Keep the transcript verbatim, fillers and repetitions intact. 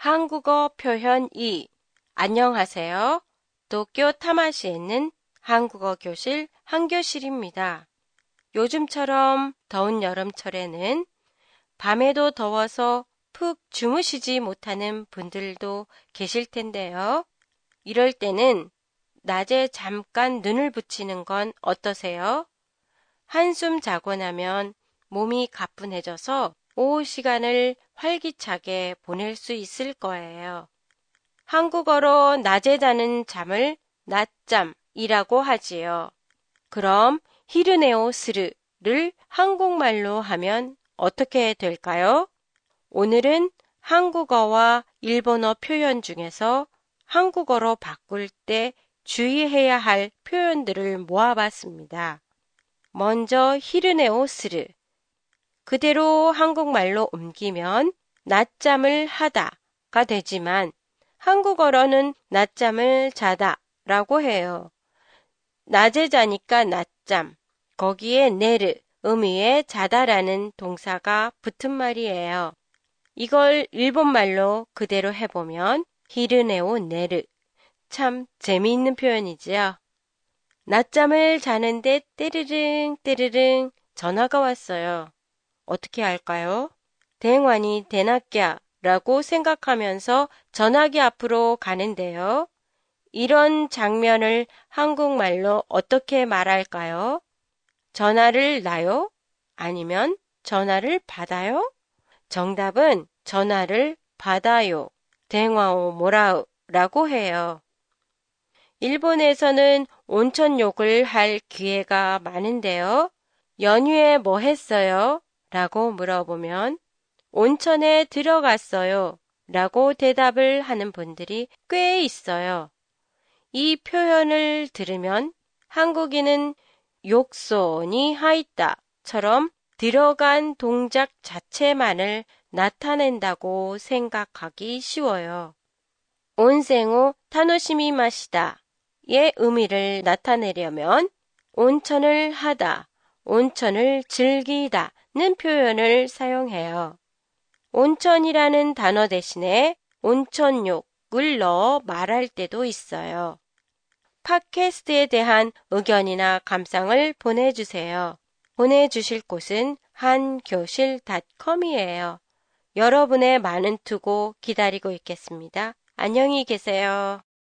한국어 표현 이. 안녕하세요. 도쿄 타마시에 있는 한국어 교실 한교실입니다. 요즘처럼 더운 여름철에는 밤에도 더워서 푹 주무시지 못하는 분들도 계실 텐데요. 이럴 때는 낮에 잠깐 눈을 붙이는 건 어떠세요? 한숨 자고 나면 몸이 가뿐해져서 오후 시간을 활기차게 보낼 수 있을 거예요. 한국어로 낮에 자는 잠을 낮잠이라고 하지요. 그럼 히르네오스르를 한국말로 하면 어떻게 될까요? 오늘은 한국어와 일본어 표현 중에서 한국어로 바꿀 때 주의해야 할 표현들을 모아봤습니다. 먼저 히르네오스르. 그대로 한국말로 옮기면 낮잠을 하다가 되지만 한국어로는 낮잠을 자다 라고 해요. 낮에 자니까 낮잠, 거기에 네르, 의미의 자다라는 동사가 붙은 말이에요. 이걸 일본말로 그대로 해보면 히르네오 네르. 참 재미있는 표현이지요. 낮잠을 자는데 떼르릉 떼르릉 전화가 왔어요. 어떻게 할까요? 대환이 대낮꺄 라고 생각하면서 전화기 앞으로 가는데요. 이런 장면을 한국말로 어떻게 말할까요? 전화를 놔요? 아니면 전화를 받아요? 정답은 전화를 받아요. 대화오 모라우 라고 해요. 일본에서는 온천욕을 할 기회가 많은데요. 연휴에 뭐 했어요? 라고 물어보면 온천에 들어갔어요. 라고 대답을 하는 분들이 꽤 있어요. 이 표현을 들으면 한국인은 욕소니 하있다처럼 들어간 동작 자체만을 나타낸다고 생각하기 쉬워요. 온생오 타노시미마시다의 의미를 나타내려면 온천을 하다, 온천을 즐기다는 표현을 사용해요. 온천이라는 단어 대신에 온천욕을 넣어 말할 때도 있어요. 팟캐스트에 대한 의견이나 감상을 보내주세요. 보내주실 곳은 한교실 닷컴이에요. 여러분의 많은 투고 기다리고 있겠습니다. 안녕히 계세요.